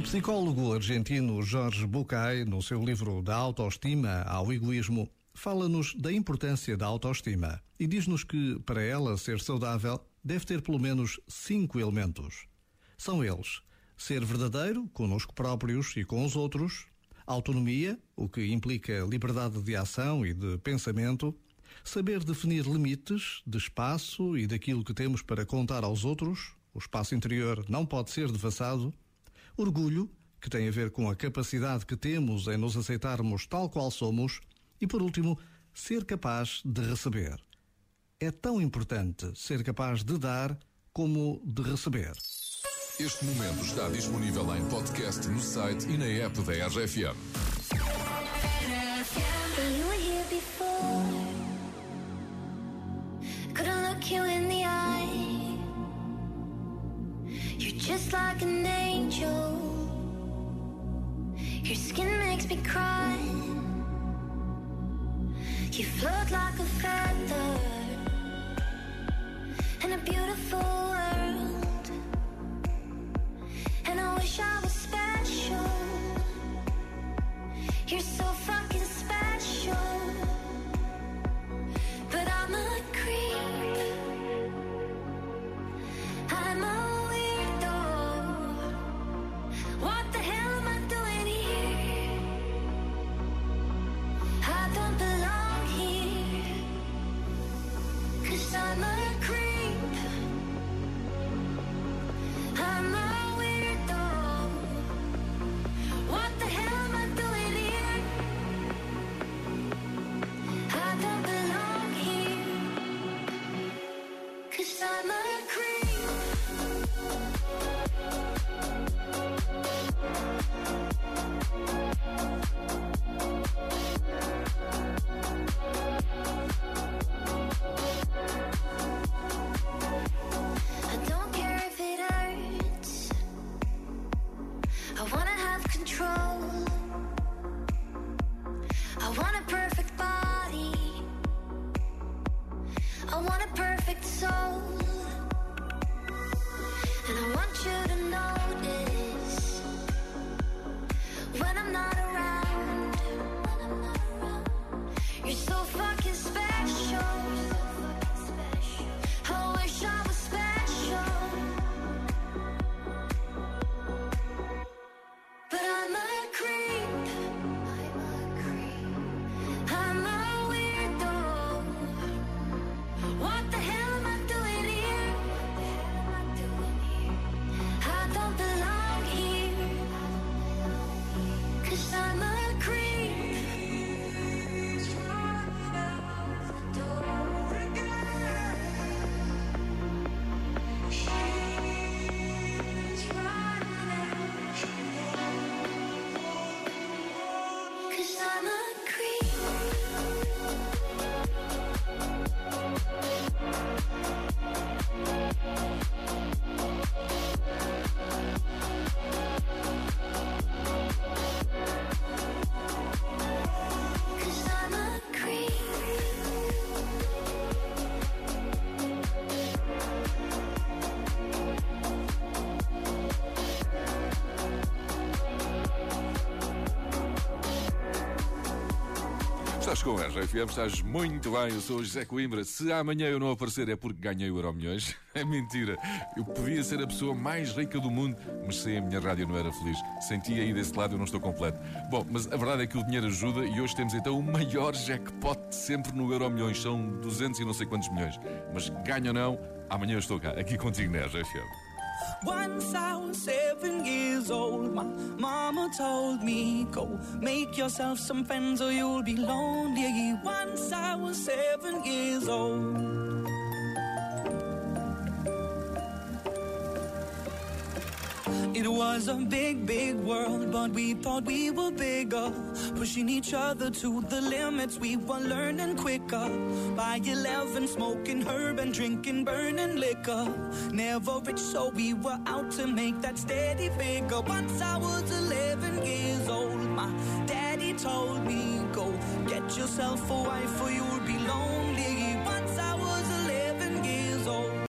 psicólogo argentino Jorge Bucay, no seu livro Da Autoestima ao Egoísmo, fala-nos da importância da autoestima e diz-nos que, para ela ser saudável, deve ter pelo menos 5 elementos. São eles: ser verdadeiro connosco próprios e com os outros, autonomia, o que implica liberdade de ação e de pensamento, saber definir limites de espaço e daquilo que temos para contar aos outros, o espaço interior não pode ser devassado, orgulho, que tem a ver com a capacidade que temos em nos aceitarmos tal qual somos, e por último, ser capaz de receber. É tão importante ser capaz de dar como de receber. Este momento está disponível em podcast no site e na app da RFM. You were here before. Couldn't look you in the eye. You're just like an angel. Your skin makes me cry. You float like a feather in a beautiful world. And I wish I was special. You're so fucking special. But I'm a creep. I'm a weirdo. What the hell am I doing here? I don't belong here. 'Cause I'm a creep. I'm a weirdo. What the hell am I doing here? I don't belong here. 'Cause I'm a creep. I don't care if it hurts. I wanna have control. I want a perfect body. I want a perfect soul. And I want you to notice when I'm not around. You're so fucking special. I wish I was special. But I'm a creep. I'm a weirdo. What the hell am I doing here? I don't belong here. 'Cause I'm a creep. Cause I'm a creep. Cause I'm a creep. Estás com a RFM, estás muito bem. Eu sou o José Coimbra. Se amanhã eu não aparecer é porque ganhei o Euromilhões. É mentira. Eu podia ser a pessoa mais rica do mundo, mas sem a minha rádio não era feliz. Senti aí desse lado eu não estou completo. Bom, mas a verdade é que o dinheiro ajuda e hoje temos então o maior jackpot de sempre no Euromilhões. São 200 e não sei quantos milhões. Mas ganho ou não, amanhã eu estou cá, aqui contigo na RFM. Once I was 7 years old, my mama told me, go make yourself some friends or you'll be lonely. Once I was 7 years old. It was a big, big world, but we thought we were bigger. Pushing each other to the limits, we were learning quicker. By 11, smoking herb and drinking burning liquor. Never rich, so we were out to make that steady figure. Once I was 11 years old, my daddy told me, go get yourself a wife or you'll be lonely.